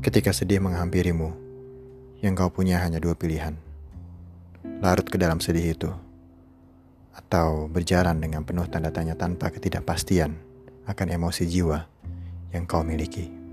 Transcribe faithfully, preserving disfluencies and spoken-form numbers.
Ketika sedih menghampirimu, yang kau punya hanya dua pilihan. Larut ke dalam sedih itu, atau berjalan dengan penuh tanda tanya tanpa ketidakpastian akan emosi jiwa yang kau miliki.